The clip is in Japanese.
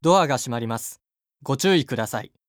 ドアが閉まります。ご注意ください。